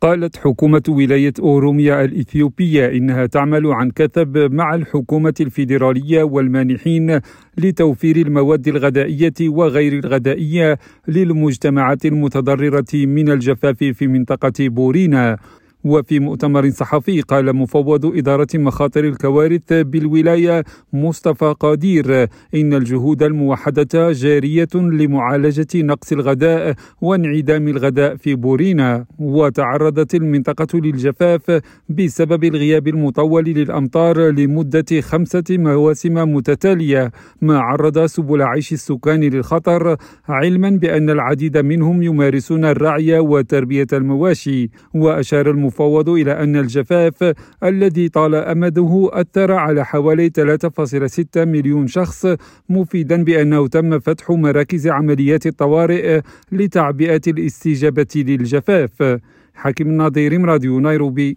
قالت حكومة ولاية أوروميا الإثيوبية إنها تعمل عن كثب مع الحكومة الفيدرالية والمانحين لتوفير المواد الغذائية وغير الغذائية للمجتمعات المتضررة من الجفاف في منطقة بورينا. وفي مؤتمر صحفي قال مفوض إدارة مخاطر الكوارث بالولاية مصطفى قادير إن الجهود الموحدة جارية لمعالجة نقص الغذاء وانعدام الغذاء في بورينا. وتعرضت المنطقة للجفاف بسبب الغياب المطول للأمطار لمدة 5 مواسم متتالية، ما عرض سبل عيش السكان للخطر، علما بأن العديد منهم يمارسون الرعي وتربية المواشي. وأشار المفوض إلى أن الجفاف الذي طال أمده أثر على حوالي 3.6 مليون شخص، مفيدا بأنه تم فتح مراكز عمليات الطوارئ لتعبئة الاستجابة للجفاف. حكيم الناظر، راديو نيروبي.